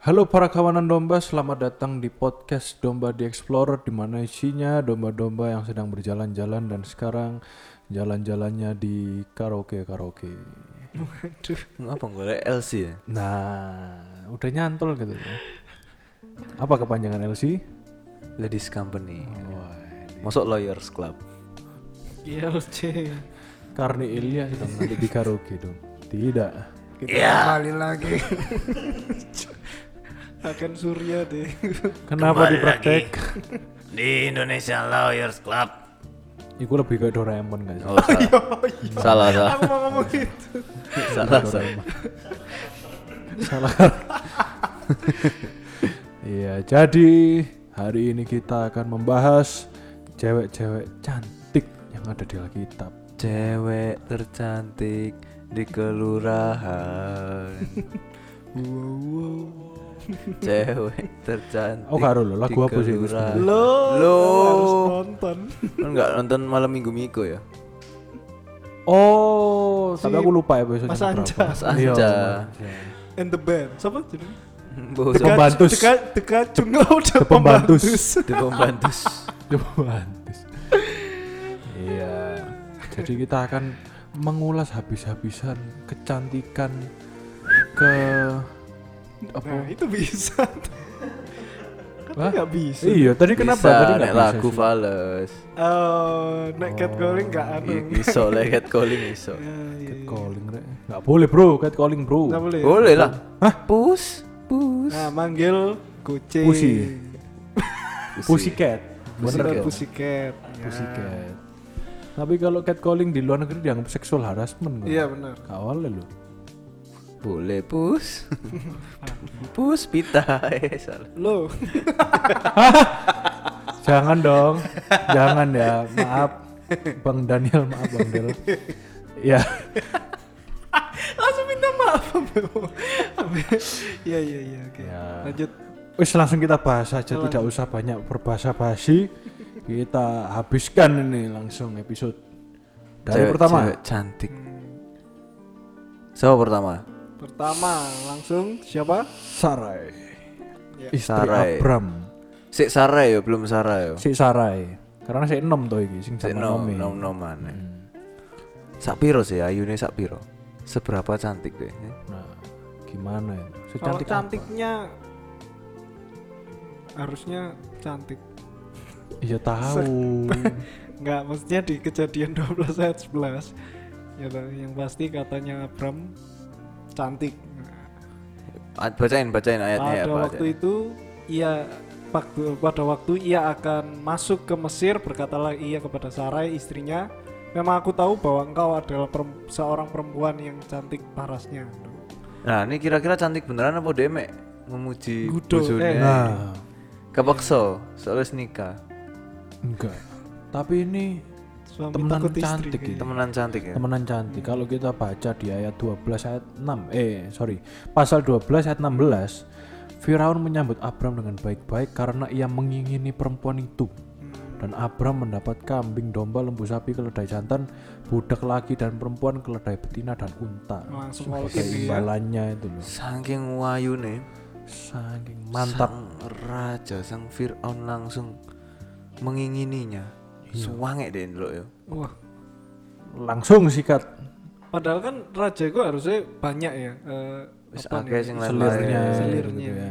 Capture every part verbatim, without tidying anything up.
Halo para kawanan domba, selamat datang di podcast Domba The Explorer, di mana isinya domba-domba yang sedang berjalan-jalan dan sekarang jalan-jalannya di karaoke-karaoke. Waduh, ngapa golek L C ya? Nah, udah nyantol gitu ya. Apa kepanjangan L C? Ladies Company. Wah, Masuk Lawyers Club. I L C. Karni Ilya sedang nanti di karaoke dong. Tidak. Kita Ya. kembali lagi. Akan Surya deh. Kenapa Kembali dipraktek? Di Indonesia Lawyers Club. Iku lebih kayak Doraemon gak sih? Oh, salah. salah, salah. Aku mau ngomong gitu. salah, salah. Salah. Iya, jadi hari ini kita akan membahas cewek-cewek cantik yang ada di Alkitab. Cewek tercantik di kelurahan. Wow, wow. Cewek tercantik. Oh, karo lo, lagu di apa sih itu kelurahan. sebenarnya? Lo, Lo. harus nonton. Kan enggak nonton malam Minggu Miko ya? Oh, Si tapi aku lupa episode Mas Anja. Mas Anja. And the band. Siapa jadi? Bos Teka- Pembantus. Teka, teka Cungga udah The Pembantus. di pembantus. Pembantus. Iya. Jadi kita akan mengulas habis-habisan kecantikan ke apa? Nah, itu bisa. Hah? Kan nggak bisa. Iya, tadi kenapa Bisa, tadi nek nggak bisa lagu sih? Fales. Oh, nek catcalling nggak anu. I- Iso lek calling iso. Ya, iya, iya. Catcalling, Rek. Nggak boleh, Bro. Catcalling, Bro. Nggak boleh. Boleh lah. Hah? Pus, pus. Nah, manggil kucing. Pusi. Pussycat. Bener Bener ya? pussycat. Ya. Pussycat. Tapi kalau catcalling di luar negeri dianggap seksual harassment. Iya benar. Awalnya lo. Boleh pus. Pus pita. Eh, salah. Lo. Jangan dong. Jangan ya. Maaf. Bang Daniel, maaf Bang Del. Ya. Langsung minta maaf. Iya iya iya oke. Ya. Lanjut. Wis langsung kita bahas saja, Lanjut. tidak usah banyak berbahasa basi. Kita habiskan ini langsung episode dari Cewek- pertama. cewek cantik. Siapa pertama? Pertama langsung siapa? Sarai. Ya. Istri Sarai. Abram. Sik Sarai ya, belum Sarai ya. Si Sarai. Karena si enom to iki sing Sik sama nom Nomi. nom noman. Hmm. Sak piro sih ayune sak piro? Seberapa cantik deh? Nah, gimana ya? Kalau Secantik apa? cantiknya harusnya cantik. Iya tahu. Enggak, maksudnya di kejadian dua belas ayat sebelas. Ya toh, yang pasti katanya Abram cantik. Ah, Bacain bacain ayatnya ya, Pada Pak. waktu itu ia waktu pada waktu ia akan masuk ke Mesir, berkatalah ia kepada Sarai istrinya, memang aku tahu bahwa engkau adalah perem- seorang perempuan yang cantik parasnya. Nah, ini kira-kira cantik beneran apa dia mek memuji Gudo, bojone? eh. Nah, Kepaksa, soalnya nikah. enggak. Tapi ini Suami Temenan takut istri cantik kayaknya. gitu. Temenan cantik ya. temenan cantik. Kalau kita baca di ayat dua belas ayat enam, eh sorry, pasal dua belas ayat enam belas, Firaun menyambut Abram dengan baik-baik karena ia mengingini perempuan itu. Dan Abram mendapat kambing, domba, lembu sapi, keledai jantan, budak laki dan perempuan, keledai betina dan unta. Langsung Sebagai all in ya. imbalannya itu loh. Saking wayune, Saking mantap. sang raja, sang Fir'aun langsung mengingininya. Iya. Suwange deh dulu ya. Wah, Langsung sikat padahal kan raja itu harusnya banyak ya. eh, Wis apa akeh nih, sing selirnya, lain-lain. Selirnya. gitu ya.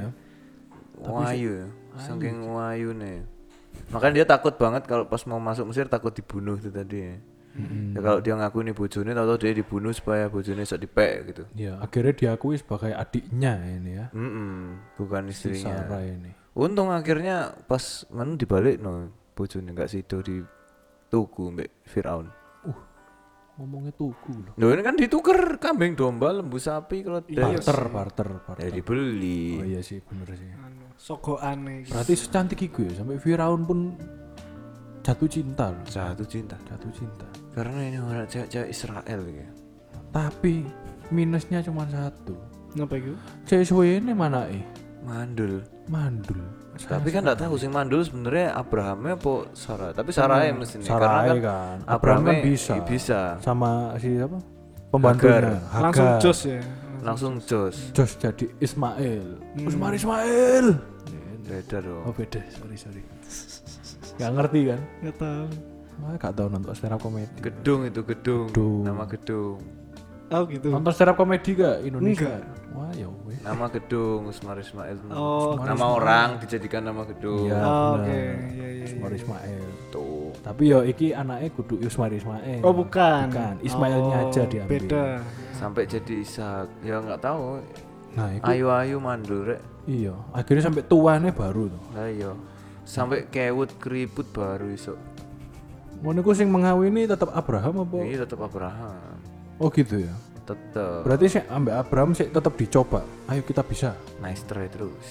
Wayu ya. Saking wayune. Makanya dia takut banget kalau pas mau masuk Mesir takut dibunuh itu tadi ya. Ya kalau dia ngaku ini bojone atau dia dibunuh supaya bojone sok dipek gitu. Ya, akhirnya diakui sebagai adiknya ini ya. Mm bukan Si istrinya. Sarah ini. Untung akhirnya pas men dibalik no bojone enggak sido di tuku mbek Firaun. Ngomongnya tuku loh. Loh ini kan dituker kambing domba lembu sapi kalau Iya, Barter, barter, barter. ya dibeli. Oh iya sih, bener sih. anu, sogokan nih. Berarti secantik itu ya, sampai Firaun pun jatuh cinta loh. Jatuh cinta. Jatuh cinta. Karena ini orang cewek-cewek Israel ya. Tapi minusnya cuma satu. Ngapa itu? Cewek suwe ini mana eh? Mandul. Mandul. Tapi kan enggak tahu sing mandul sebenarnya Abrahamnya apa Sarah. Tapi Sarah ya mesti nih. Sarai Karena kan. Abraham Abraham kan bisa. bisa. Sama si apa? Pembantunya. Hagar. Langsung Hagar. jos ya. langsung jos. Jos jadi Ismail. Hmm. Usmar Ismail. Beda dong. Oh beda, sorry sorry. Gak ngerti kan? Nggak tahu. Wah, gak tau nonton stand up comedy. Gedung itu gedung. Gedung. Nama gedung. Oh gitu. Nonton stand up comedy gak Indonesia? Wah ya weh. Nama gedung Usmar Ismail. Oh, Nama orang dijadikan nama gedung. Iya. Oh, bener. oke. Iya iya. Usmar iya. Ismail. Tuh. Tapi yo iki anaknya kudu Usmar Ismail. Oh bukan. Bukan, Ismailnya Oh, aja diambil. Beda. Sampai jadi Ishak. Ya nggak tahu. Nah, itu Ayu-ayu mandul rek. iya, akhirnya sampai tuane baru tuh. Lah iya. Sampai kewut keriput baru iso. Ngono iku sing mengawini tetap Abraham apa? Ini tetap Abraham. Oh gitu ya. Tetap. Berarti sih ambek Abraham sih tetap dicoba. Ayo kita bisa. Nice try terus.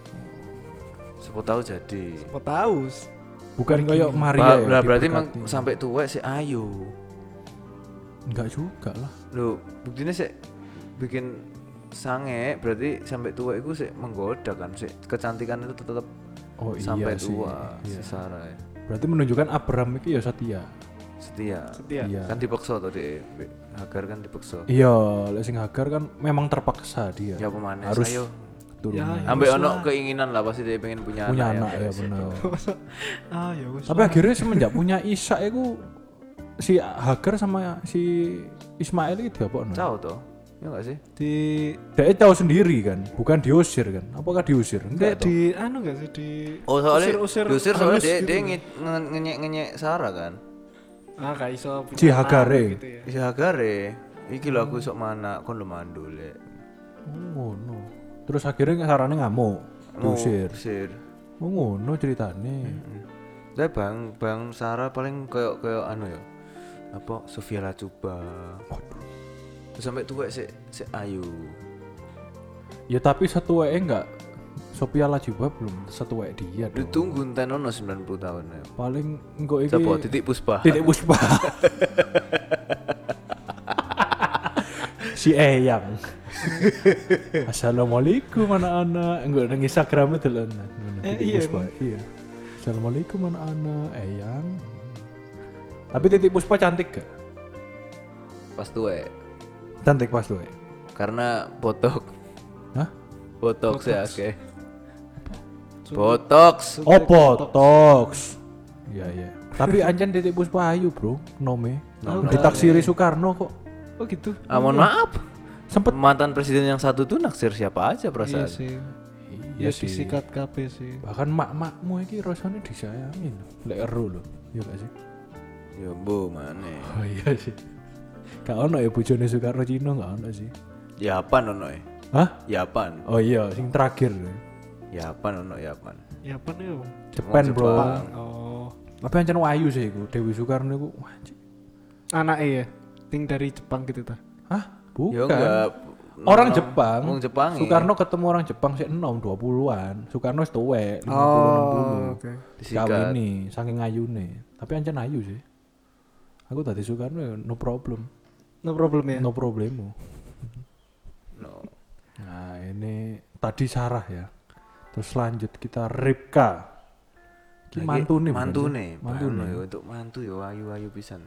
Siapa tahu jadi. Mau tahu. Bukan kayak Maria Ba- ya. lah, berarti diberkati. emang sampai tua si Ayu. enggak juga lah. Loh, buktinya sih bikin sange, berarti sampai tua itu sih menggoda kan sih. Kecantikan itu tetap Oh sampai iya sih. tua Iya. si Sarah ya. Berarti menunjukkan Abraham itu ya setia. Setia. Setia. Iya. Kan dipaksa tadi. Hagar kan dipaksa. Iya, lek sing Hagar kan memang terpaksa dia. Ya pemanis. Harus Ayo. turunan. Ya, Ambek wis ono lah. keinginan lah pasti dia pengen punya, Punya anak, anak ya guys. benar. Ah ya wis. Tapi akhirnya semenjak punya Ishak itu si Hagar sama si Ismail itu diapokno. Tahu toh? Ya enggak sih? Di Dia tahu sendiri kan, bukan diusir kan? Apakah diusir? enggak Enggak toh. di anu enggak sih di Oh soalnya usir-usir diusir soalnya halus dia gitu. dia nge- nge- ngenyek-ngenyek Sarah kan. Ah gak iso punya Si anak Hagare. gitu ya. Si Hagar ya. Iki lho aku sok mana kon lu mandul ya. Oh ngono. Terus akhirnya sarane ngamuk, Mau diusir. usir. Oh ngono ceritane. Lah bang bang Sarah paling kayak kayak anu ya. Apa Sofia Lacuba. Terus sampai tua si si Ayu. Ya tapi satu wae enggak. Sophia Lajuba belum satu wae dia dong. Ditunggu enten ono sembilan puluh tahun ya. Paling engko iki Siapa Titik Puspa. Titik Puspa. Si Eyang. Assalamualaikum anak-anak. Enggak nang Instagram itu lho. Eh, iya, Puspa. Iya. Assalamualaikum anak-anak. Eyang. Tapi Titik Puspa cantik gak? Pas tua. Cantik pas tuh. Karena botok. Hah? Botox ya oke. Botox. Oh, botox. Iya, iya. Tapi anjen Titik Puspa ayu, Bro. Nome. Nom- Ditaksiri Soekarno kok. Oh gitu. Ah, mohon maaf. Sempet Mantan presiden yang satu tuh naksir siapa aja perasaan. Iya sih. Iya Ya sih. disikat K P sih. Bahkan mak-makmu iki rasanya disayangin. Lek eru lho. Iya gak sih? Ya bu mana? Oh iya sih. Gak ono ya bojone Soekarno Cina gak ono sih. Yapan ono ya. Hah? Yapan. Oh iya, sing terakhir. Yapan ono Yapan. Ya apa nih? Om? Jepang, Bro. Jepang. Oh. Tapi ancen wayu sih iku. Dewi Soekarno iku anjir. Anak ya. Ting dari Jepang gitu ta. Hah? Bukan. Ya enggak. Orang Jepang. Orang Jepang. Soekarno ketemu orang Jepang sih enom dua puluhan. Soekarno wis tuwek lima puluh enam puluh. oke. Disikat. Kawini saking ayune. Tapi ancen ayu sih. Aku tadi Soekarno ya no problem. No problem ya. No problemo. No. Nah, ini tadi Sarah ya. Terus lanjut kita Ripka. Ki Lagi mantune. bukan Mantune. sih? Mantune. Mantune. Untuk mantu ya ayu-ayu pisan.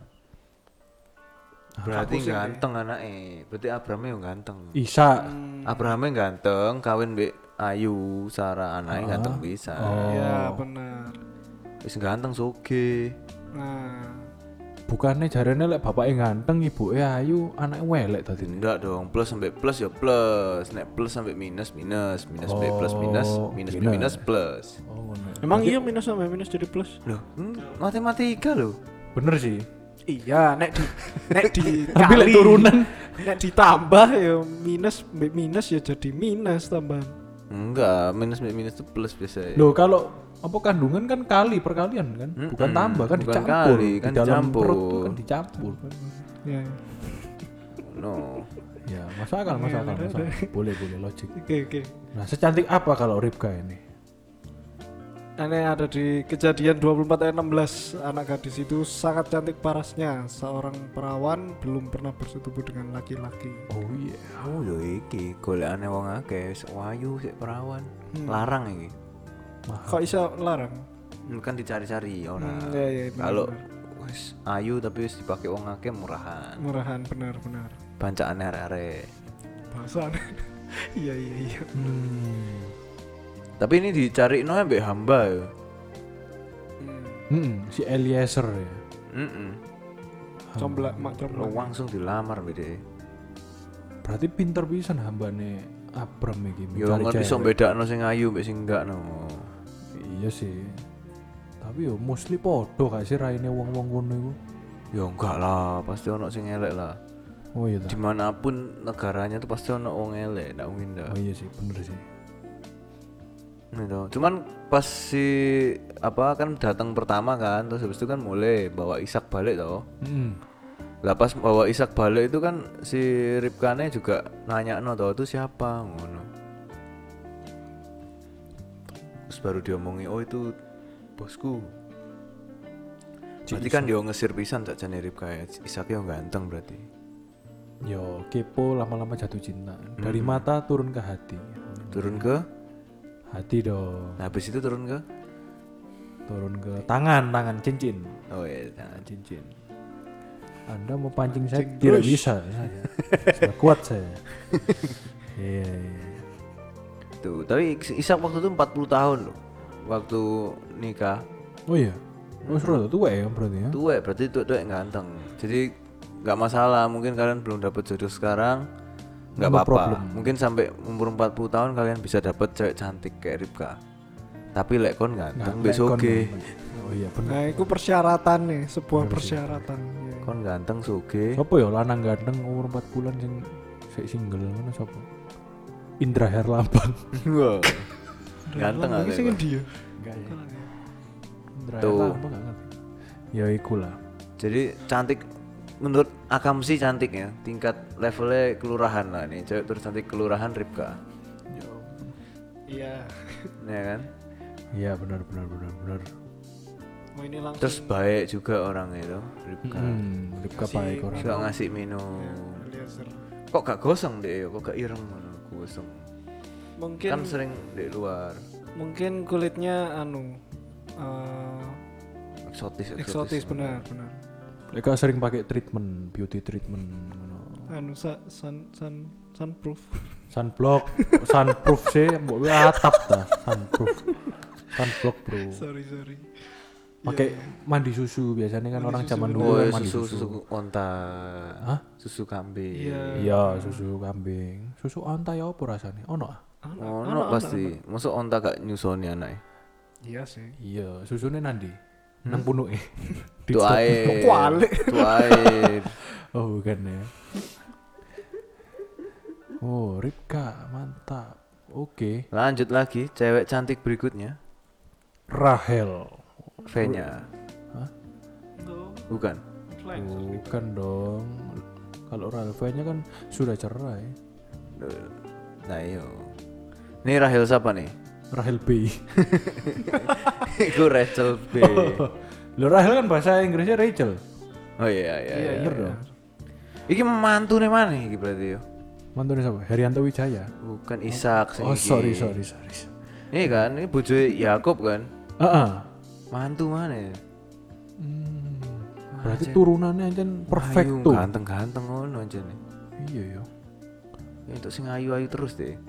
Ah, Berarti aku sih ganteng anaknya. Berarti Abrahamnya yang ganteng. Isa. Abrahamnya ganteng, kawin mbek Ayu, Sarah anaknya Ah. ganteng bisa. Oh. Ya benar. Wis ganteng soge. Nah. Bukannya jarene lek bapaknya ganteng, ibuke ayu, anaknya welek tadi. Enggak dong, plus sampai plus ya plus. Nek plus sampai minus minus, minus sampai plus minus, Oh, minus minus. minus plus. Oh, ngono. Emang iya minus sama minus jadi plus? Loh, hmm, matematika loh. Bener sih. Iya, nek di nek di Tapi lek turunan nek ditambah ya minus mbek minus ya jadi minus tambahan. Enggak, minus sampai minus itu plus biasa. loh kalau apa kandungan kan kali perkalian kan, bukan Mm-mm, tambah kan bukan dicampur. kali, Di kan dalam dicampur. perut tuh kan dicampur. Ya. No. Ya, masuk akal, masuk akal, masuk akal. Boleh, boleh logik. Oke, oke. Nah, secantik apa kalau Ripka ini? Ini ada di kejadian dua puluh empat ayat enam belas, anak gadis itu sangat cantik parasnya, seorang perawan belum pernah bersetubuh dengan laki-laki. Oh iya. Oh lho iki golekane wong akeh, sik wayu sik perawan. Hmm. Larang iki. Kok bisa larang? Kan dicari-cari orang. Hmm, iya, iya, benar, Kalau benar. wis ayu tapi wis dipakai wong akeh murahan. Murahan benar-benar. Bancaan arek-arek. Sana. Iya iya iya. Hmm. Tapi ini dicari no ambek hamba ya. Hmm. Hmm, si Eliezer ya. Heeh. Combla mak Lo combla. langsung dilamar bede. Berarti pinter pisan hambane Abram iki Yo ngerti iso bedakno sing ayu mbek sing enggak no. Iya sih. Tapi yo mostly podo gak sih raine wong-wong ngono iku? Ya enggak lah, pasti ono sing elek lah. Oh iya ta. Dimanapun negaranya tuh pasti ono wong elek, ndak mungkin dah. Oh iya sih, bener sih. Gitu. Cuman pas si apa kan datang pertama kan, terus habis itu kan mulai bawa Ishak balik toh. Heeh. Lah pas bawa Ishak balik itu kan si Ribkane juga nanya no toh itu siapa ngono. Terus baru diomongi oh itu bosku. Berarti kan dia ngesir pisan tak jane Ribka ya. Ishak yo ganteng berarti. Yo kepo lama-lama jatuh cinta. Dari mata turun ke hati. Turun ke Hati dong. nah habis itu turun ke Turun ke tangan, tangan cincin. oh iya Tangan cincin. Anda mau pancing saya tidak bisa saya. Sudah kuat saya. Iya, iya. tuh. Tapi Ishak waktu itu empat puluh tahun loh. Waktu nikah. Oh iya. Oh seru tuh ya berarti ya. Tua berarti tuh tuh ganteng. Jadi nggak masalah. Mungkin kalian belum dapat jodoh sekarang, nggak No apa-apa. problem. Mungkin sampai umur empat puluh tahun kalian bisa dapat cewek cantik kayak Ribka. Tapi lek kon ganteng Nggak, besok kon- Oh iya bener. Nah, itu persyaratan nih, sebuah persyaratan. Iya. kon ganteng soge. Sopo ya lanang ganteng umur empat bulan sing sik single ngono sopo? Indra Herlambang. Wow. Ganteng Lambang aja. sing Pak. endi ya? Enggak ya. Indra Tuh. Herlambang enggak ngerti. Ya iku lah. Jadi cantik menurut Akam sih cantik ya. Tingkat levelnya kelurahan lah nih. Cewek tercantik kelurahan Ribka. Iya. Ya kan? Iya benar benar benar benar. Oh ini langsung Terus baik juga orangnya itu Ribka. Hmm, Ribka Kasih baik orang. Suka ngasih minum. Eliezer. Kok gak gosong deh, kok gak ireng ngono gosong. Mungkin Kan sering di luar. mungkin kulitnya anu eh, Eksotis, eksotis benar benar. Mereka sering pakai treatment, beauty treatment ngono. Anu sa, sun sun sunproof. Sunblock, sunproof sih, mbok kuwi atap ta, sunproof. Sunblock, Bro. sorry sorry. Pakai mandi susu biasanya kan Mandi orang susu, zaman bener. dulu Oh, kan ya, mandi susu, susu. susu onta. Hah? Susu kambing. Iya. Iya, susu kambing. Susu onta ya apa rasanya? Ono ah? Anu, Oh, anu, no, anu, pasti. Masuk onta gak nyusoni anaknya. Iya sih. Iya, susunya nanti. Nang punuke. Tuh ae. Kualik. Tuh ae. Oh, bukan ya. Oh, Ribka, mantap. Oke. Lanjut lagi, cewek cantik berikutnya. Rahel. V-nya. Bukan. Bukan dong. Kalau Rahel V-nya kan sudah cerai. Nah, iyo. Ini Rahel siapa nih? Rahel B. Iku Rachel B. Lo Rahel kan bahasa Inggrisnya Rachel. Oh iya iya. iya, Bener iya. dong. Iki mantu nih mana iki berarti yo? Mantunya siapa? Herianto Wijaya. Bukan Ishak sing Oh, iki. sorry sorry sorry. Ini kan, ini bojoe Yakub kan. Heeh. Mantu mana ya? Hmm. Berarti turunannya aja perfect Ayu, tuh. ganteng-ganteng ngono aja nih. Iya ya. Ya, untuk sing ayu-ayu terus deh.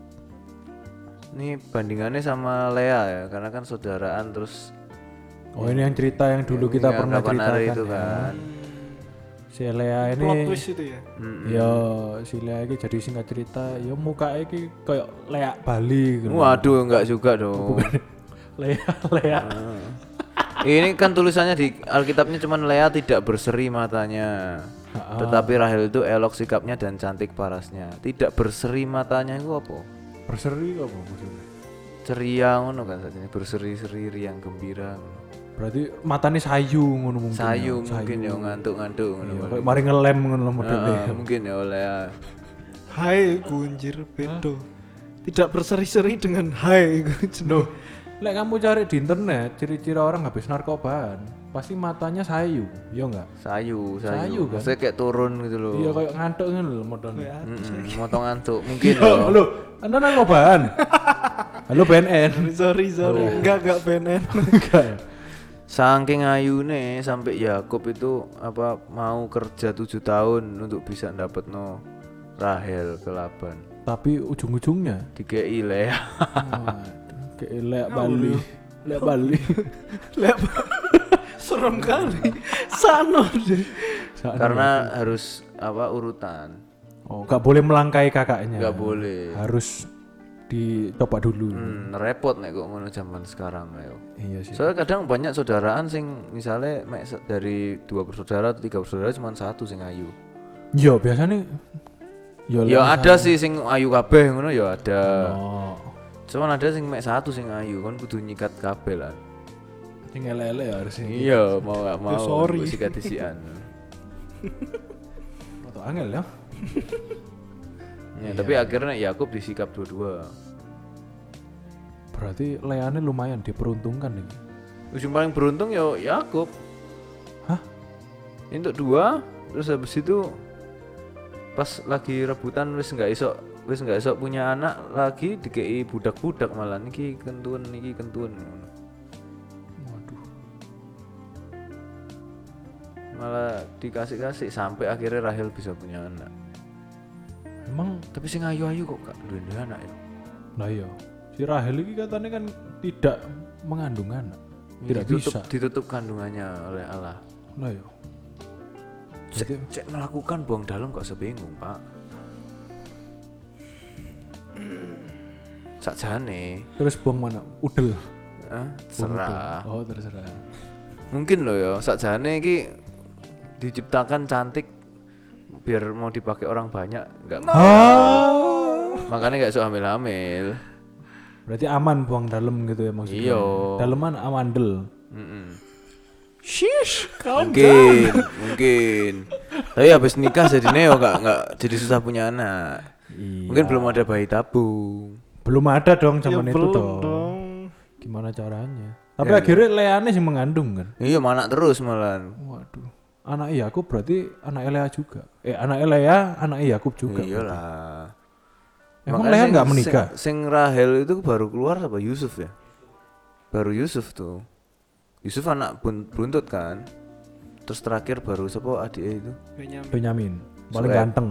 Ini bandingannya sama Lea ya, karena kan saudaraan terus. Oh ini yang cerita yang dulu kita yang pernah kapan hari ceritakan itu ya. kan. Si Lea ini. Plot twist itu ya. Mm-mm. Ya si Lea ini jadi singkat cerita, ya muka ini kayak Lea Bali gitu. Waduh, enggak juga dong. Lea Lea. Ah. Ini kan tulisannya di Alkitabnya cuman Lea tidak berseri matanya. Ha-ha. Tetapi Rahel itu elok sikapnya dan cantik parasnya. Tidak berseri matanya itu apa? Berseri apa maksudnya? Ceria ngono kan saja, berseri-seri riang gembira. Berarti matanya sayu ngono mungkin. Sayu ya. mungkin ya ngantuk-ngantuk ngono. Iya, paling. kayak mari ngelem ngono modelnya. Ah, mungkin ya Lea. Hai gunjir bedo. Tidak berseri-seri dengan hai. Loh, lek kamu cari di internet ciri-ciri orang habis narkobaan, pasti matanya sayu, ya enggak? Sayu, Sayu sayu. kan? Maksudnya kayak turun gitu loh. Iya kayak ngantuk ngono lho modelnya. Mm-mm, motong ngantuk mungkin Iya, loh. halo, Anda narkobaan. Halo B N N. sorry sorry. Enggak enggak B N N. Enggak ya? Saking ayune sampai Yakub itu apa mau kerja tujuh tahun untuk bisa dapet no Rahel ke Laban. Tapi ujung-ujungnya Dikei Lea. waduh, kayak Lea Bali. Lea Bali. Lep. Serem kali. Sano deh. Saat Karena harus apa urutan. oh, gak boleh melangkai kakaknya. Nggak boleh. Harus dicoba dulu. Hmm, repot nek kok ngono zaman sekarang ayo. Iya sih. Soalnya kadang banyak saudaraan sing misalnya mek se- dari dua bersaudara atau tiga bersaudara cuma satu sing ayu. Yo biasanya yo Ya lek ada sih sing ayu kabeh ngono ya ada. oh, Cuman ada sing mek satu sing ayu kan kudu nyikat kabeh lah. sing ele-ele ya harusnya. Iya, mau gak mau sorry. mbok sikat isian. Atau angel ya. Ya, tapi akhirnya Yakub disikap dua-dua. Berarti Leane lumayan diperuntungkan ini. Yang paling beruntung ya Yakub. Hah? Untuk dua, terus habis itu pas lagi rebutan wis nggak iso wis nggak iso punya anak lagi dikei budak-budak malah niki kentun niki kentun. Waduh. Malah dikasih-kasih sampai akhirnya Rahel bisa punya anak. Emang Tapi sing ayu-ayu kok gak duwe anak ya. lah iya. Si Rahel ini katanya kan tidak mengandung anak. Tidak ditutup, bisa. ditutup kandungannya oleh Allah. Lah iya. Cek, Jadi- cek melakukan buang dalam kok sebingung pak. Sakjane, Terus buang mana? Udel. eh, Buang serah. udel. Oh, terserah. Mungkin loh ya, sakjane iki diciptakan cantik biar mau dipakai orang banyak, nggak mau. Ah. Makanya nggak suka hamil-hamil. Berarti aman buang dalam gitu ya maksudnya. Iya. Daleman amandel. Mm-mm. Shish, kau Mungkin, mungkin. Tapi habis nikah jadi neo nggak nggak jadi susah punya anak. Iya. Mungkin belum ada bayi tabung. Belum ada dong ya zaman itu belum dong. dong. Gimana caranya? Tapi Ya, akhirnya Leane sih mengandung kan. Iya, mana terus malah. Waduh. Anak Yakub berarti anak Lea juga. Eh anak Lea, anak Yakub juga. Iyalah. Emang Makanya Lea sing- nggak menikah? Sing, sing Rahel itu baru keluar apa Yusuf ya? Baru Yusuf tuh. Yusuf anak bun- buntut kan. Terus terakhir baru siapa adiknya itu? Benyamin. Benyamin paling Sueb. ganteng.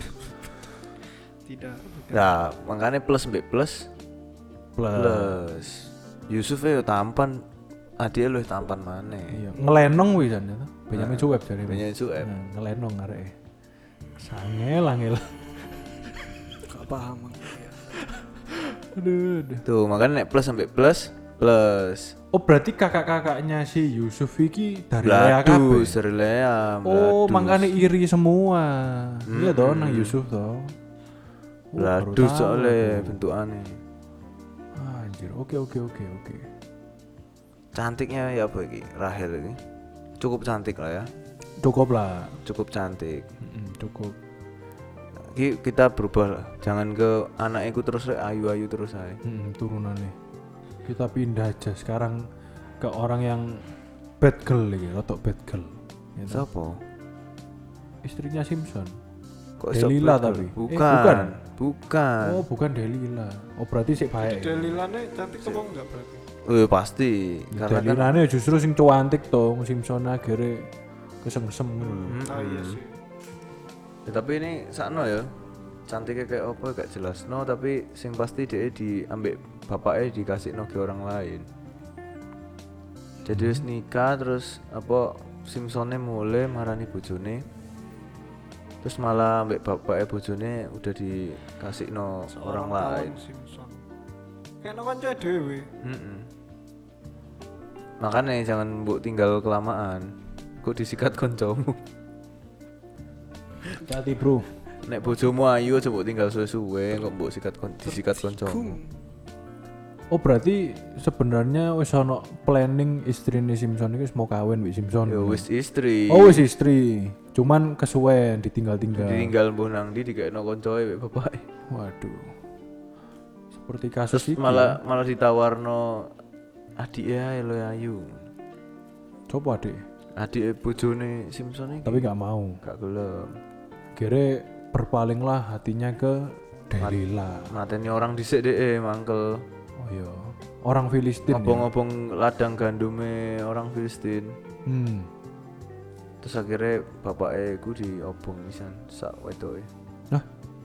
Tidak. bukan. Nah, makanya plus mbek plus Plus. plus. Yusuf ya tampan, adiknya lu tampan mana? Iya, ngelenong wis kan itu. Benyamin Sueb jare. Benyamin Sueb. Nah, ngelenong areke. Sangel angel. Gak paham aku ya. Aduh, aduh. Tuh, makanya nek plus sampai plus plus. Oh, berarti kakak-kakaknya si Yusuf iki dari Lea kabeh. Bladus, dari Lea. Oh, Bladus. makanya iri semua. Iya toh Mm-mm. nang Yusuf toh. Oh, baru Bladus tahu soalnya aku. bentukannya. Anjir, oke oke oke oke. Cantiknya ya apa iki? Rahel ini. Cukup cantik lah ya. Cukup lah. Cukup cantik. Mm-mm, cukup. Ki- kita berubah lah. Jangan ke anakku terus rek, ayu-ayu terus aja. Mm, turunannya. Kita pindah aja sekarang ke orang yang bad girl lagi, rotok bad girl. Ya toh? Siapa? Istrinya Simpson. Kok iso Delila betul? tapi. Eh, Bukan. bukan. Bukan. Oh, bukan Delila. Oh, berarti sih baik. Delilane cantik apa enggak berarti? Oh, pasti. Karena kan Delilane justru sing cuantik toh, Simpson akhirnya kesengsem ngono lho. Hmm, Ah iya sih. ya, tapi ini sakno ya. Cantiknya kayak apa gak jelas. No, tapi sing pasti dia diambil bapaknya dikasih no ke orang lain. Jadi wis nikah terus apa Simpsonnya mulai marani bojone. Terus malah ambek bapaknya bojone udah dikasih no orang lain. Simpson. Kayak no kanca dhewe. Mm-mm. Makanya jangan mbok tinggal kelamaan. Kok disikat koncomu. Hati, Bro. Nek bojomu ayu aja mbok tinggal suwe-suwe kok mbok sikat kon disikat koncomu. Oh, berarti sebenarnya wis ono planning istrine Simpson iki wis mau kawin wis Simpson. Ya wis istri. Oh, wis istri. Cuman kesuwen ditinggal-tinggal. Ditinggal mbuh nang ndi dikekno koncoe mek bapake. Waduh. Seperti kasus Terus iki. malah malah ditawarno adiknya lo ayu. Coba deh. Adik bojone Simpson iki Tapi nggak mau. gak gelem. Kira berpalinglah hatinya ke Delila. Mateni orang dhisik dhek mangkel. Oh iya. Orang Filistin. Ya? Ngobong-ngobong ladang gandume orang Filistin. Hmm. Terus akhirnya bapaknya ku diobong pisan sak wedoke. Nah,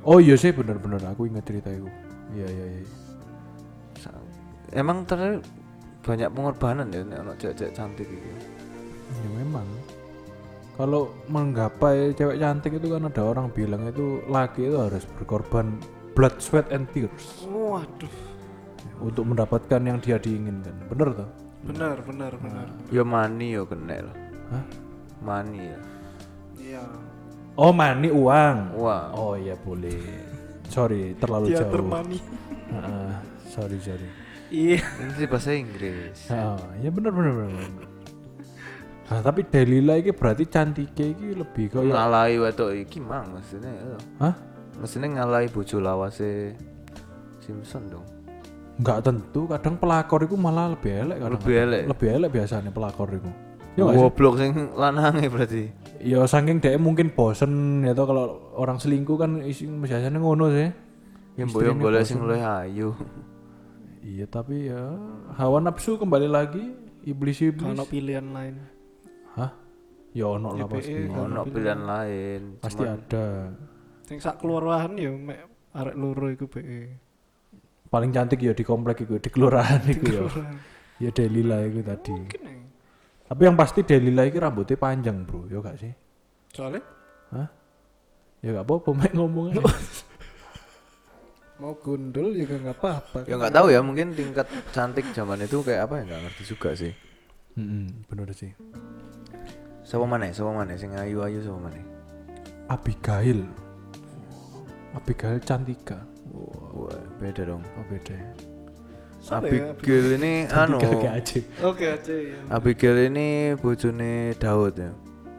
Oh iya sih bener-bener aku ingat cerita itu. Iya iya iya. Sa- Emang ternyata banyak pengorbanan ya nek ono cewek-cewek cantik gitu. Ya memang. Kalau menggapai cewek cantik itu kan ada orang bilang itu laki itu harus berkorban blood, sweat and tears Waduh. untuk mendapatkan yang dia diinginkan. Bener toh? Benar, benar, benar. Ya mani yo kena lah. Hah? Mani ya. Iya. Oh, mani uang. Wah. Oh iya boleh. Sorry, terlalu Dia jauh. termani. Heeh, sorry sorry. Iya. Ini sih bahasa Inggris. Ah, ya bener bener bener. Nah, tapi Delila ini berarti cantiknya ini lebih kayak Ngalahi wedok iki mang maksudnya. ya. Hah? Maksudnya ngalahi bojo lawase Simpson dong. Enggak tentu, kadang pelakor itu malah lebih elek kadang. Lebih elek? Lebih elek biasanya pelakor itu. Ya nggak sih? Goblok sing lanange berarti. Ya saking dia mungkin bosen ya toh kalau orang selingkuh kan isi biasanya ngono sih. Ya mbok Istrinya yo golek bosen. sing luwih ayu. Iya tapi ya hawa nafsu kembali lagi iblis-iblis. Kalau pilihan lain. Hah? Ya ono lah Y P E. pasti. Ono pilihan lain. Pasti Cuman ada. Sing sak keluarwahan ya mek arek loro iku B E. Paling cantik ya di komplek itu, di kelurahan itu ya. Ya Delila itu tadi. Mungkin ya. Tapi yang pasti Delila itu rambutnya panjang bro, ya gak sih? Soalnya Hah? Ya gak apa-apa, mek ngomong aja. mau gundul juga nggak apa-apa. ya nggak tahu ya mungkin tingkat cantik zaman itu kayak apa ya nggak ngerti juga sih. Mm-mm, bener sih. Siapa mana? Siapa mana? Sing ayu-ayu siapa mana? Abigail. Abigail Cantika. Wah, beda dong. Oh beda ya. Siapa ya? Abigail ini anu. Cantika kayak aja. Oke aja ya. Abigail ini bojone Daud ya.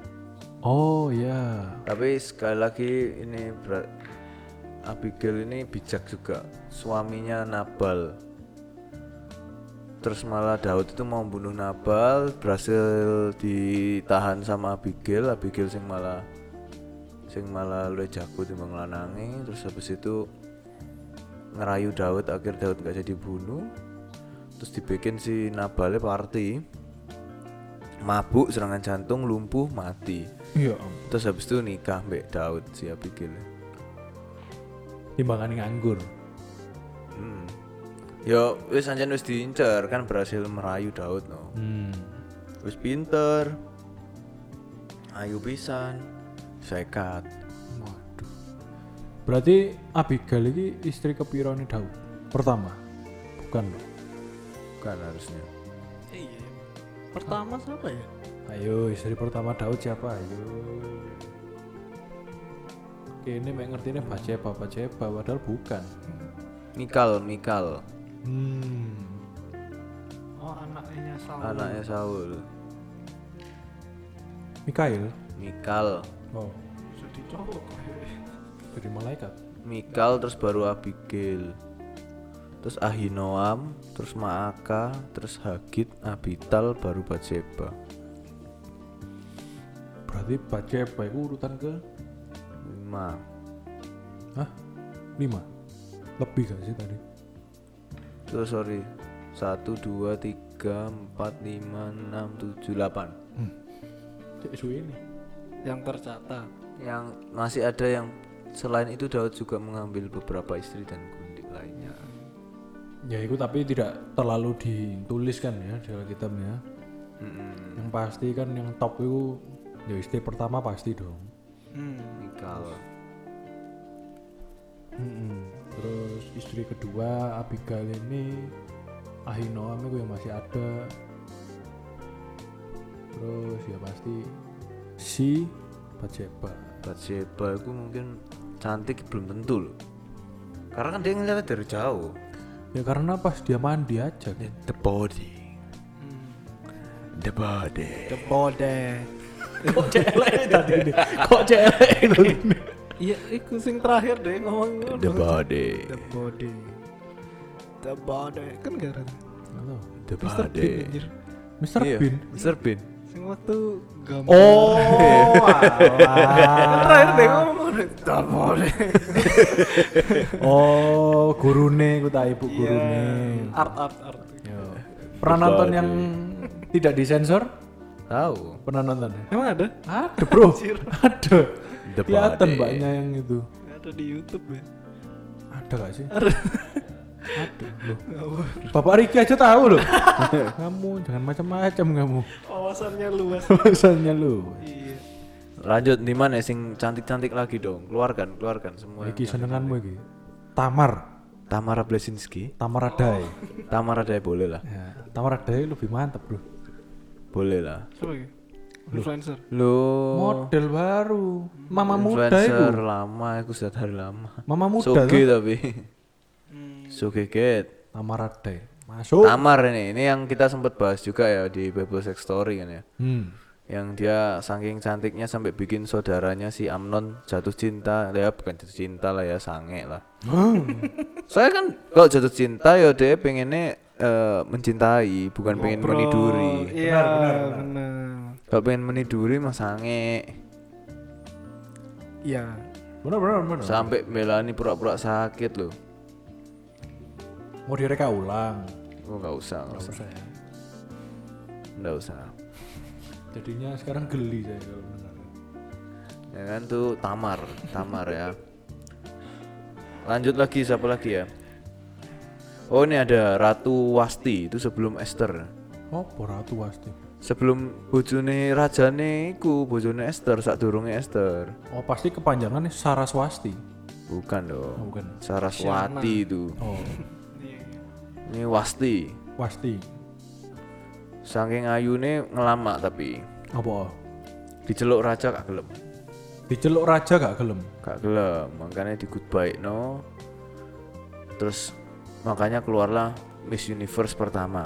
Oh ya. Tapi sekali lagi ini ber- Abigail ini bijak juga. Suaminya Nabal. Terus malah Daud itu mau bunuh Nabal, berhasil ditahan sama Abigail. Abigail sing malah sing malah luwih jago timbang lanange. Terus habis itu ngerayu Daud, akhir Daud gak jadi bunuh. Terus dibikin si Nabalnya party, mabuk, serangan jantung, lumpuh, mati. Iya. Terus habis itu nikah mbek Daud si Abigail. Timbangan nganggur. Hmm. Yo wis ancen wis diincer kan berhasil merayu Daud no. Hmm. Wis pinter. Ayu pisan. Sekat. Waduh. Berarti Abigail ini istri kepiro nih Daud? Pertama? Bukan loh. Kan harusnya. Iya. Pertama siapa ya? Ayo istri pertama Daud siapa? Ayo. Oke ini mek ngerti ini Baceba, Baceba padahal bukan. Mikal, Mikal. Hmm. Oh anaknya Saul. Anaknya Saul. Mikail. Mikal. Oh. Jadi cowok. Dari malaikat. Mikal terus baru Abigail. Terus Ahinoam, terus Maaka, terus Hagit, Abital, baru Batseba. Berarti Baceba itu urutan ke lima. Hah? lima? Lebih gak sih tadi? Terus sorry. satu, dua, tiga, empat, lima, enam, tujuh, delapan. Cek suwe ini. Yang tercatat. Yang masih ada yang selain itu Daud juga mengambil beberapa istri dan gundik lainnya. Ya itu tapi tidak terlalu dituliskan ya di Alkitab ya. Mm-mm. Yang pasti kan yang top itu ya istri pertama pasti dong. Hmm. Mikal. Mm-mm. Terus istri kedua Abigail ini Ahinoam itu yang masih ada. Terus ya pasti si Baceba. Batseba itu mungkin cantik belum tentu loh. Karena kan dia ngeliat dari jauh. Ya karena pas dia mandi aja kan. The body. The body. The body. Kok celek tadi ini? Kok celek itu? Iya, itu sing terakhir deh ngomong. The body. The body. The body. Kan gak ada. Halo. The Mister body. Bean anjir. Mister Iya, Bean. Mister Bean. Sing waktu gambar. Oh, Kan terakhir deh ngomong. The body. oh, gurune ku tak ibu Iya. gurune. Art art art. Yo. Pernah The nonton body. yang tidak disensor? Tahu. Pernah nonton? Emang ada? Ada bro. Ada. The Kelihatan body. mbaknya yang itu. Ada. Ada di YouTube ya. Ada gak sih? Ada. Ada loh. Bapak Riki aja tahu loh. Kamu jangan macam-macam kamu. Wawasannya luas. Wawasannya lu. Iya. Lanjut di mana sing cantik-cantik lagi dong. Keluarkan, keluarkan semua. Iki senenganmu iki. Tamar, Tamara Blesinski. Tamara Day. Tamara Day boleh lah. Ya, Tamara Day lebih mantap, Bro. Boleh lah. Siapa ya? Influencer. Lo Model baru. Mama muda influencer itu. lama, aku sudah dari lama. Mama muda Soge tuh. tapi. Hmm. Soge get. Tamara Day. Masuk. Tamar ini, ini yang kita sempat bahas juga ya di Bible Sex Story kan ya. Hmm. Yang dia saking cantiknya sampai bikin saudaranya si Amnon jatuh cinta. Ya bukan jatuh cinta lah ya, sange lah. Saya kan kalau jatuh cinta ya dia pengennya eh, mencintai, bukan pengen Ngobrol. meniduri. Iya, benar. Kalau pengen meniduri mah sange. Iya. Benar benar benar. Sampai Melani pura-pura sakit loh. Mau direka ulang. Oh nggak usah, nggak Nggak usah, usah ya. nggak usah. Jadinya sekarang geli saya kalau benar. Ya kan tuh Tamar, Tamar ya. Lanjut lagi siapa lagi ya? Oh ini ada Ratu Wasti itu sebelum Esther. Oh, Ratu pasti. Sebelum bojone rajane iku bojone Esther sak durunge Esther. Oh, pasti kepanjangannya Saraswati. Bukan Oh, dong. bukan. Saraswati itu. Oh, Iya. Ini Wasti. pasti. Saking ayune ngelamak tapi Apa? diceluk raja gak gelem. Diceluk raja gak gelem. Gak gelem, makanya di goodbye no. Terus makanya keluarlah Miss Universe pertama.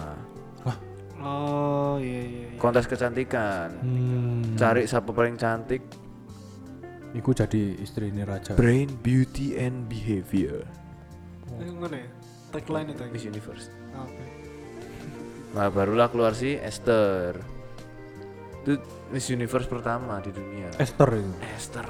Oh, iya iya. iya. Kontes kecantikan. Hmm. Cari siapa paling cantik. Iku jadi istri ini raja. Brain, beauty, and behavior. Ini mana ya? Tagline itu. Miss Universe. Ah, Oke. Nah barulah keluar si Esther. Itu Miss Universe pertama di dunia. Esther itu. Esther.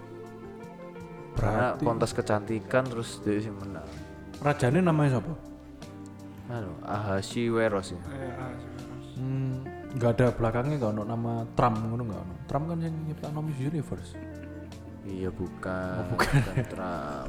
Karena Berarti kontes kecantikan terus dia sih menang. rajanya namanya siapa? Anu, Ahasuerus ya. Eh, ah, sih. Hmm, nggak ada belakangnya nggak ono nama Trump ngono nggak ono. Trump kan yang nyiptain Miss Universe. Iya bukan. Oh, bukan. Trump.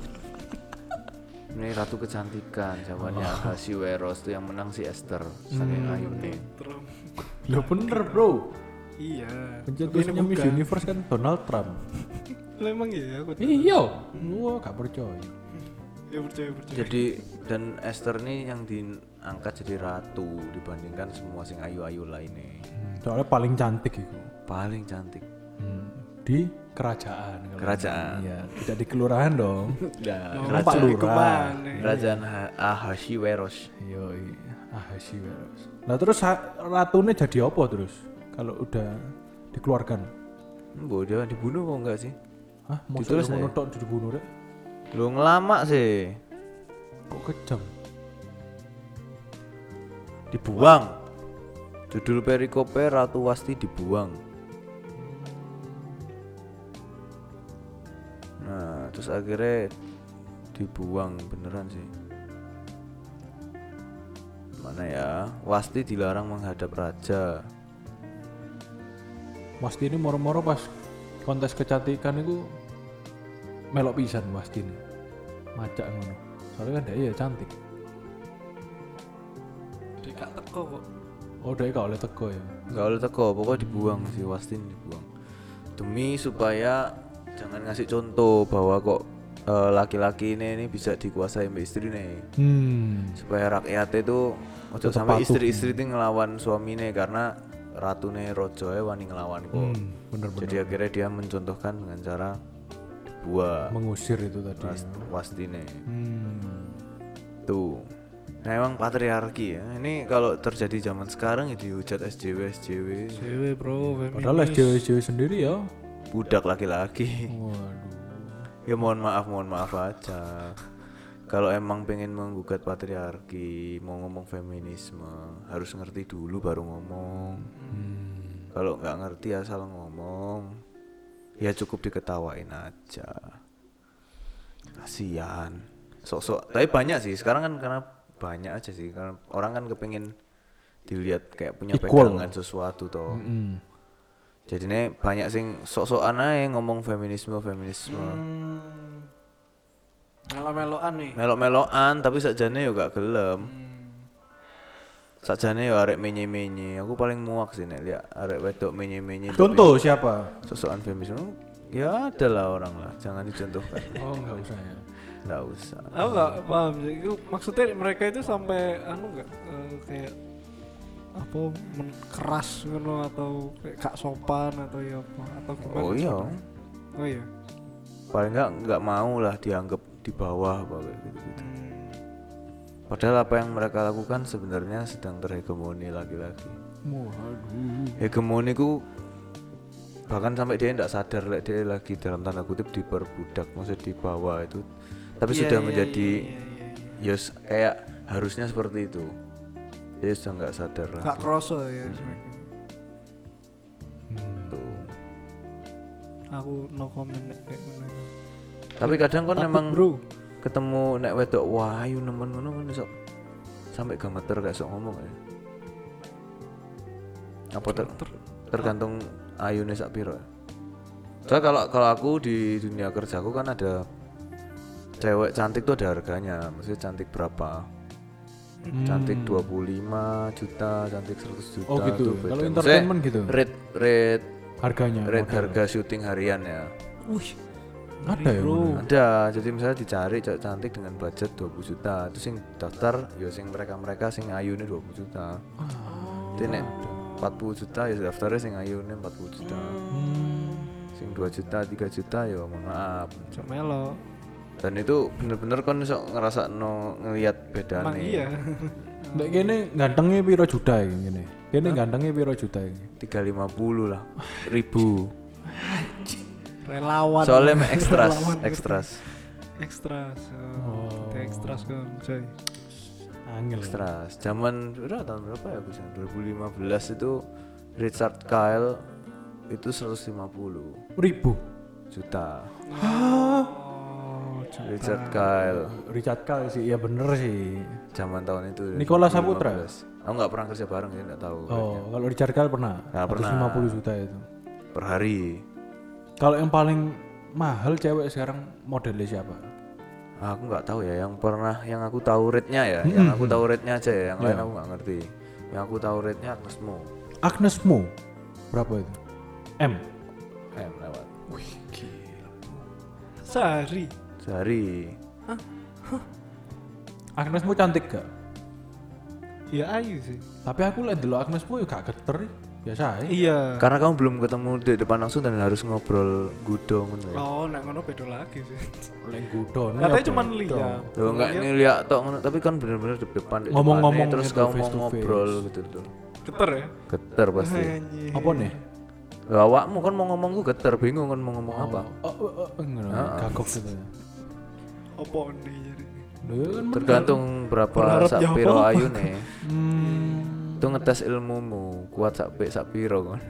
Ini ratu kecantikan, jawabannya Oh. Ahasuerus itu yang menang si Esther. Saking Hmm. ayune. Trump. Lo bener bro. Iya. Pencetusnya Tapi ini Miss bukan. Universe kan Donald Trump. Lah, emang iya aku tahu. Iya. Wah gak percaya. Ya percaya percaya. Jadi dan Esther nih yang diangkat jadi ratu dibandingkan semua sing ayu-ayu lainnya. Hmm, soalnya paling cantik itu. Paling cantik. Hmm, di kerajaan. kalau Kerajaan. Iya, tidak di kelurahan dong. Nah, Oh, Kerajaan. Pak Lurah. Kemana? kerajaan Ha- Ahasuerus. Yo, Ahasuerus. Nah terus ha- ratunya jadi apa terus? Kalau udah dikeluarkan? Mbok dia dibunuh kok enggak sih? Hah? Mau Ditulis ngono aja. tok dibunuh rek? Lu ngelamak sih. Kok kejam? Dibuang. Judul perikope Ratu Wasti dibuang. Nah, terus akhirnya dibuang beneran sih. Mana ya? Wasti dilarang menghadap raja. Wasti ini moro-moro pas kontes kecantikan itu melok pisan Wasti ini. Macak ngono. Soalnya kan dia ya cantik. Dia gak teko kok. Oh, dia gak oleh teko ya. Enggak boleh teko, pokoknya dibuang si Wasti ini dibuang. Demi supaya jangan ngasih contoh bahwa kok eh, laki-laki ini, ini bisa dikuasai mbak istri nih. Hmm. Supaya rakyat itu ojo Tetep sampai patuh. istri-istri itu ngelawan suamine karena ratune rojoe wani ngelawan kok. Hmm, bener-bener. Jadi akhirnya dia mencontohkan dengan cara dibuang Mengusir itu tadi. was, wastine. Hmm. Tuh. Nah emang patriarki ya. Ini kalau terjadi zaman sekarang ya dihujat S J W S J W. Cewek bro, feminis. Padahal S J W S J W sendiri ya. Budak laki-laki. Waduh. Ya mohon maaf, mohon maaf aja. Kalau emang pengen menggugat patriarki, mau ngomong feminisme, harus ngerti dulu baru ngomong. Hmm. Kalau nggak ngerti asal ngomong, ya cukup diketawain aja. Kasihan. Sok-sok. Tapi banyak sih. Sekarang kan karena banyak aja sih. Karena orang kan kepengen dilihat kayak punya Equal. pegangan sesuatu toh. Mm-mm. Jadi nih banyak sing sok-sokan aja ngomong feminisme, feminisme. Hmm. Melo-meloan nih. Melok-melokan tapi sakjane yo gak gelem. Sakjane yo arek menye-menye. Aku paling muak sih nek lihat arek wedok menye-menye. Contoh siapa? Sosokan feminis. Ya ada lah orang lah, jangan dicontohkan. Oh enggak usah ya. Enggak usah. Aku nggak paham sih. Itu maksudnya mereka itu sampai anu nggak eh, kayak apa men- keras gitu atau kayak gak sopan atau ya apa atau gimana? Oh iya. sebenarnya? Oh iya. Paling enggak enggak mau lah dianggap di bawah apa kayak gitu-gitu. Padahal apa yang mereka lakukan sebenarnya sedang terhegemoni laki-laki. Waduh. Hegemoni ku bahkan sampai dia tidak sadar like, dia lagi dalam tanda kutip diperbudak, maksudnya di bawah itu. Tapi Iya, sudah iya, menjadi iya, iya, iya. yos kayak harusnya seperti itu. Dia sudah nggak sadar lah. Gak kroso ya sebenarnya. Tuh. Aku no comment nek kayak ngono. Tapi kadang kan Takut, memang bro. ketemu nek wedok wahyu nemen ngono kan iso sampai gemeter gak sok ngomong ya. Apa ter tergantung ayune sak piro. Soalnya kalau kalau aku di dunia kerjaku kan ada cewek cantik tuh ada harganya, maksudnya cantik berapa? Cantik dua puluh lima juta, cantik seratus juta. Oh gitu. tuh beda. Kalau Maksudnya entertainment gitu. Rate rate Harganya. rate model. harga syuting harian ya. Wih. Ada ya. Bro. Bro. Ada, jadi misalnya dicari cewek cantik dengan budget dua puluh juta, terus sing daftar ya sing mereka-mereka sing ayune dua puluh juta. Jadi nek empat puluh juta ya daftarnya sing ayune empat puluh juta. Hmm. Sing dua juta, tiga juta ya mohon maaf. Cemelo. Dan itu bener-bener kan iso ngerasa no ngelihat bedane. Emang iya. Nek kene gantengnya piro juta iki ngene. Kene gantengnya piro juta iki. tiga ratus lima puluh lah ribu. Relawan. Soalnya mah ekstras, Relawan. ekstras, Ekstras. Oh. Oh. Kita ekstras kan, coy. Angel. ekstras. Zaman berapa tahun berapa ya bisa? dua ribu lima belas itu Richard Kyle itu seratus lima puluh Ribu. juta. Oh, Richard Kyle Richard Kyle sih, ya bener sih. zaman tahun itu. Nicola dua ribu lima belas. Saputra? Aku nggak pernah kerja bareng ya, nggak tahu. Oh, kalau Richard Kyle pernah. Nggak pernah. seratus lima puluh juta itu. Per hari. Kalau yang paling mahal cewek sekarang modelnya siapa? Ah, aku nggak tahu ya. Yang pernah, yang aku tahu rate-nya ya. Yang aku tahu rate-nya aja ya. Yang lain Iya. aku nggak ngerti. Yang aku tahu rate-nya Agnes Mo. Agnes Mo. Berapa itu? M. M lewat. Sehari. Sehari. Agnes Mo cantik gak? Ya ayu sih. Tapi aku lihat dulu Agnes Mo ya gak geter. Biasa aja. Iya. Karena kamu belum ketemu di depan langsung dan harus ngobrol gudo ngono ya. Oh, nek ngono beda lagi sih. Leng gudo. Katanya cuma lihat. Loh enggak ngeliat tok ngono, tapi kan bener-bener di depan di Ngomong-ngomong depannya, terus gitu, kamu face mau to ngobrol face. gitu tuh. Geter ya? Geter pasti. Anjir. Apa nih? Lah awakmu kan mau ngomong gue geter, bingung kan mau ngomong apa. Oh, oh, oh, oh enggak, gagok gitu ya. Apa nih jadi? Loh, ya kan Tergantung berapa Berharap sak jawab piro apa? ayune. Hmm. Itu ngetes ilmumu, kuat sak pik sak piro kan.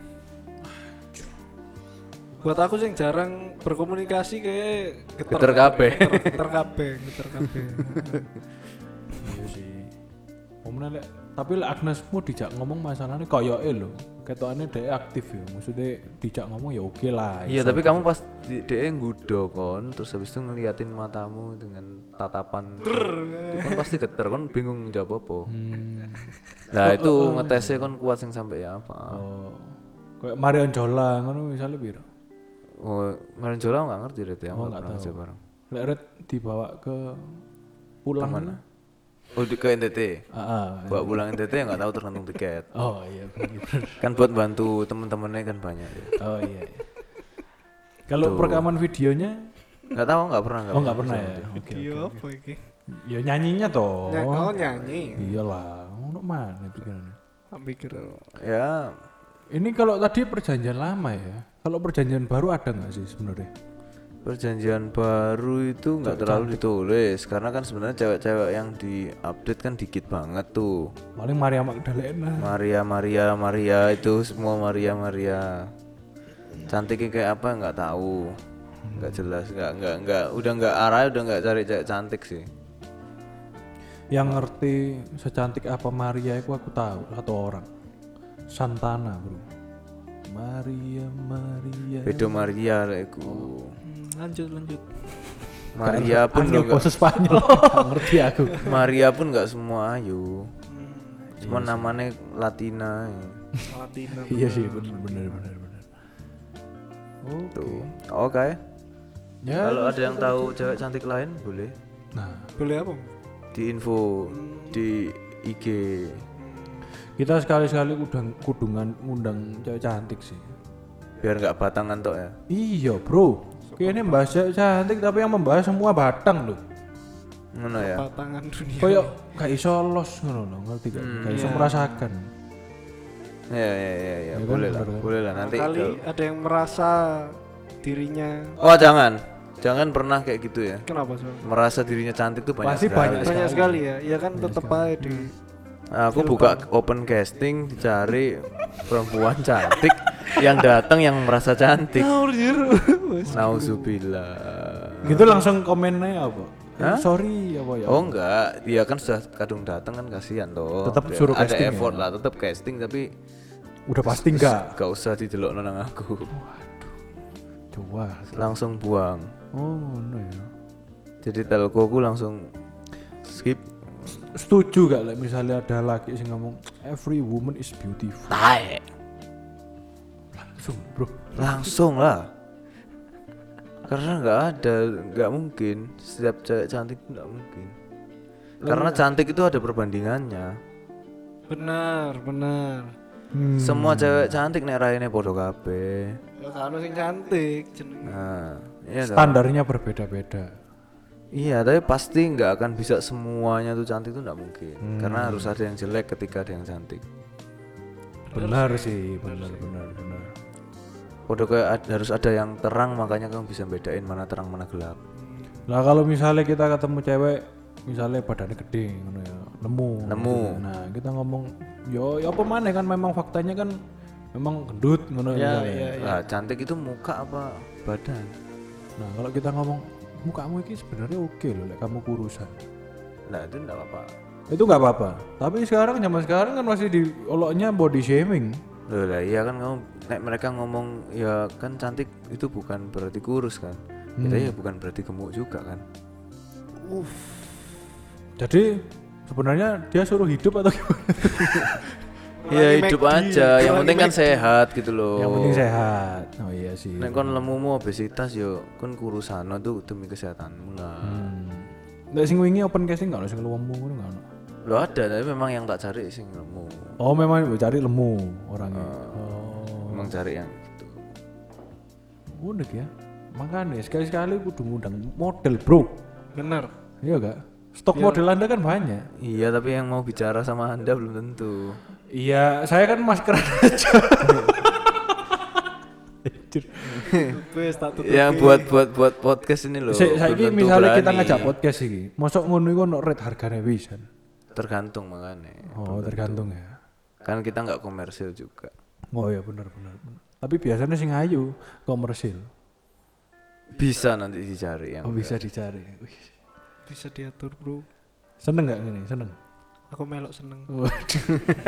Buat aku sih jarang berkomunikasi kayak geter. Geter kabeh. Geter, geter kabeh, geter kabeh. Iya sih. Omne lek tapi lek Agnes Mo dijak ngomong masalahnya koyoke lho. Ketokane dhek aktif ya. Maksudnya dijak ngomong ya oke lah. Iya, iso. tapi kamu pas di dhek nggudo kon, terus habis itu ngeliatin matamu dengan tatapan. Itu kan pasti geter, kon bingung jawab apa. Hmm. Nah, itu ngetesnya kon kuat sing sampai ya apa. Oh. Kayak Marion Jola ngono misalnya piro? Oh, Marion Jola nggak ngerti deh, ya Oh, nggak nggak pernah tahu. kerja bareng. Lek Red dibawa ke pulang Kemana? Oh, di ke N T T. Ah, ah. Bawa pulang N T T ya nggak tahu tergantung tiket. Oh iya benar. Kan buat bantu temen-temennya kan banyak. Ya. Oh iya. iya. Kalau perekaman videonya Nggak tahu, nggak pernah. oh nggak pernah ya. Oke. Iya apa iki? Ya nyanyinya toh. Ny- oh nyanyi. Iyalah, ngono mana pikirannya. Tak pikir. Ya, Ini kalau tadi perjanjian lama ya. Kalau perjanjian baru ada nggak sih sebenarnya? perjanjian baru itu nggak terlalu ditulis karena kan sebenarnya cewek-cewek yang diupdate kan dikit banget tuh. Paling Maria Magdalena. Maria, Maria, Maria itu semua Maria, Maria. Cantiknya kayak apa nggak tahu, nggak jelas, nggak nggak nggak udah nggak arah, udah nggak cari cewek cantik sih. Yang ngerti secantik apa Maria itu aku tahu satu orang. Santana, Bro. Maria, Maria. Bedo Maria lah iku. Hmm, lanjut lanjut. Maria pun Angel enggak. bahasa Spanyol. Nggak ngerti aku. Maria pun enggak semua ayu. Cuma namanya Latina. Latina. Iya sih, benar benar benar benar. Tuh. Oke. Ya, Kalau ada yang tahu cewek cantik lain boleh nah, Boleh apa? di info di I G. kita sekali-sekali udah kudungan ngundang cewek cantik sih. Biar nggak batangan tok ya. Iya, Bro. Kayaknya membahas cewek cantik tapi yang membahas semua batang loh. Ngono ya. Batangan dunia. Kayak gak iso los ngono loh, ngerti gak? Hmm, Gak iso iya. merasakan. Ya ya ya ya, Ya kan, boleh lah. bener kan? Boleh lah nanti. Kali kalau- ada yang merasa dirinya Oh, jangan. Jangan pernah kayak gitu ya. kenapa sih? Merasa dirinya cantik tuh banyak Pasti sekali. banyak Banyak sekali. sekali ya. Ya kan tetep aja di Aku buka open casting cari perempuan cantik yang datang yang merasa cantik. Nauzubillah. Gitu langsung komennya apa? Hah? Sorry apa ya? Oh enggak, dia kan sudah kadung datang kan kasihan toh. Tetap Dia suruh ada casting effort ya? lah, tetap casting tapi Udah pasti enggak. gak usah didelok nang aku. Coba. Langsung buang. Oh, no ya. Jadi telco ku langsung skip. Setuju gak lah misalnya ada laki sing ngomong every woman is beautiful. Tae. Langsung, Bro. Langsung lah. Karena nggak ada, nggak mungkin setiap cewek cantik itu nggak mungkin. Karena cantik itu ada perbandingannya. benar, benar. Hmm. Semua cewek cantik nek raine podo kabeh. Ya kan sing cantik jenenge. Nah, iya toh. Standarnya berbeda-beda. Iya, tapi pasti nggak akan bisa semuanya tuh cantik itu nggak mungkin. Hmm. Karena harus ada yang jelek ketika ada yang cantik. Benar sih, benar benar benar. Podo kayak ad- harus ada yang terang, makanya kamu bisa bedain mana terang mana gelap. Lah kalau misalnya kita ketemu cewek misalnya badannya gede ngono ya, nemu. Nemu. gitu. Nah, kita ngomong yo ya apa maneh kan memang faktanya kan memang gendut ngono Ya, misalnya. iya, iya. Lah, cantik itu muka apa badan? Nah, kalau kita ngomong mukamu ini sebenarnya oke loh, lek kamu kurusan. Nah, itu enggak apa-apa. Itu nggak apa-apa. Tapi sekarang zaman sekarang kan masih dioloknya body shaming. Loh lah iya kan kamu nek mereka ngomong ya kan cantik itu bukan berarti kurus kan. Kita ya bukan berarti gemuk juga kan. Jadi sebenarnya dia suruh hidup atau gimana? Ya hidup aja, yang penting kan sehat gitu loh. Yang penting sehat. Oh iya sih. Nek kon lemumu obesitas yo kon kurusan itu demi kesehatanmu lah. Hmm. Nek sing wingi open casting enggak ono sing lemu ngono enggak ono. Lo ada tapi memang yang tak cari sing lemu. Oh, memang mau cari lemu orangnya. oh. Memang cari yang gitu. Unik ya. Makanya sekali-sekali kudu ngundang model, Bro. Bener. Iya gak? Stok model Anda kan banyak. Iya tapi yang mau bicara sama Anda belum tentu. Iya, saya kan maskeran aja. Wes tak tutup. Yang buat buat buat podcast ini loh. Saya belum tentu misalnya kita berani. ngajak podcast iki, mosok ngono iku ono rate hargane pisan. Tergantung makanya. Oh, tergantung ya. Kan kita nggak komersil juga. Oh ya benar benar. benar. Tapi biasanya sing ayu komersil. Bisa nanti dicari yang Oh, bisa dicari. Wih. Bisa diatur, Bro. Seneng gak ini? Seneng. Aku melok seneng. Waduh.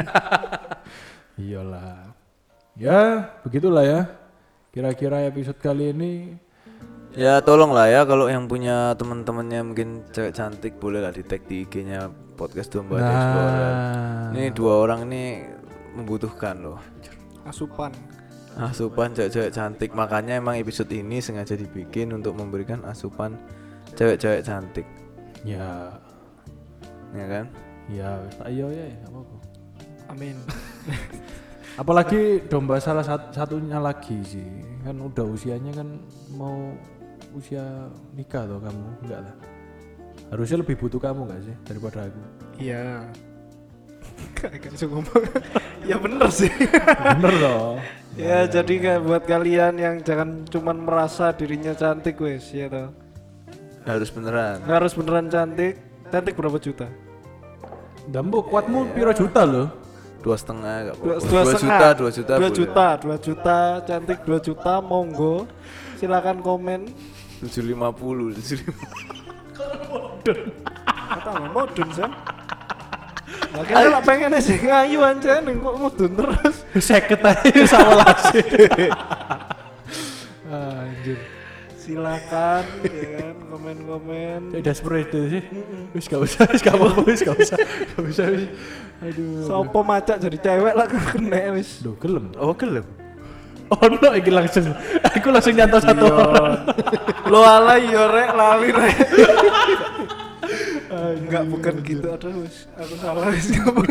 Iyalah. Ya, begitulah ya. Kira-kira episode kali ini Ya tolong lah ya kalau yang punya teman-temannya mungkin cewek cantik boleh lah di tag di I G-nya podcast Domba Nah. Explorer. Ini dua orang ini membutuhkan loh Asupan. asupan cewek-cewek cantik. Makanya emang episode ini sengaja dibikin untuk memberikan asupan cewek-cewek cantik, ya ya kan? ya ayo ya enggak apa-apa. Amin. Apalagi domba salah sat- satunya lagi sih. Kan udah usianya kan mau usia nikah tuh kamu, enggak lah. Harusnya lebih butuh kamu enggak sih daripada aku? Iya. Kayak bisa ngomong. Ya bener sih. Bener loh. Ya jadi kayak buat kalian yang jangan cuman merasa dirinya cantik wes ya toh. Harus beneran. Harus beneran cantik. Cantik berapa juta? Dambo kuatmu piro juta loh? Dua setengah gak Dua, apa-apa. dua, Dua setengah. juta, dua juta, dua boleh. juta, dua juta, cantik dua juta, monggo. Silakan komen. Tujuh lima puluh, tujuh lima. Kata nggak modun sih. Lagi lah pengen sih ngayu aja nih kok modun terus. Seket aja sama lasi. Anjir. silakan ya kan komen-komen. Udah seperti itu sih. Wis gak usah, wis gak apa-apa, wis gak usah. Gak usah wis. Aduh. Sopo macak jadi cewek lah kena wis. Duh, gelem. Oh gelem. Oh no, iki langsung. Aku langsung nyantol satu orang. Lo ala yo rek lali rek. Enggak bukan gitu aduh wis. Aku salah wis ngomong.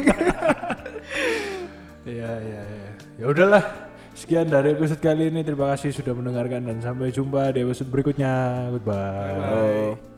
Iya, iya, iya. Ya udahlah. Sekian dari episode kali ini. Terima kasih sudah mendengarkan dan sampai jumpa di episode berikutnya. Goodbye. Bye.